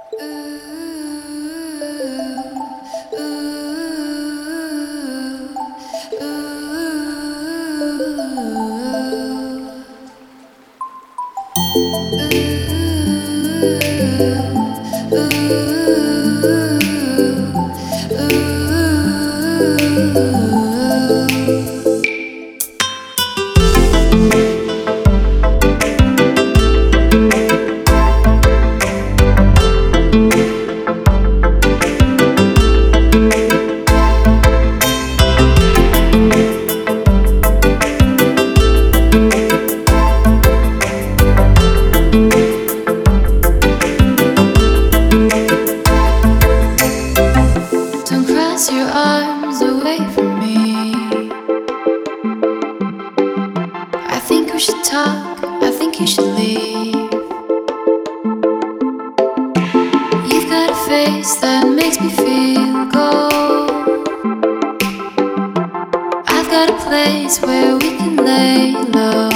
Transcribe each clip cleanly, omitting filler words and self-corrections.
Your arms away from me. I think we should talk, I think you should leave. You've got a face that makes me feel gold. I've got a place where we can lay low.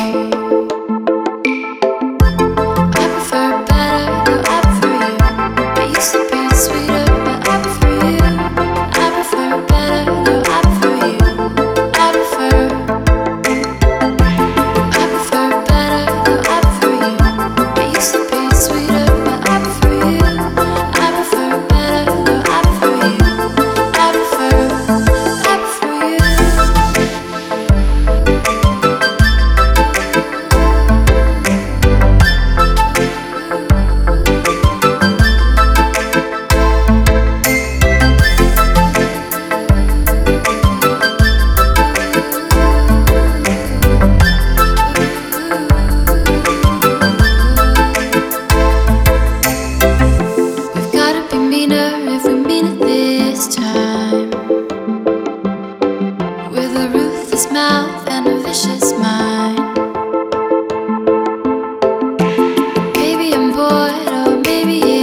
I prefer better, though I prefer you. It used to be sweeter, but I prefer you. I prefer better, though I prefer you. I prefer better, though I prefer you. It used to be sweeter, but I prefer you. I prefer better, though I prefer you. I prefer you. If we mean it this time, with a ruthless mouth and a vicious mind. Maybe I'm bored, or maybe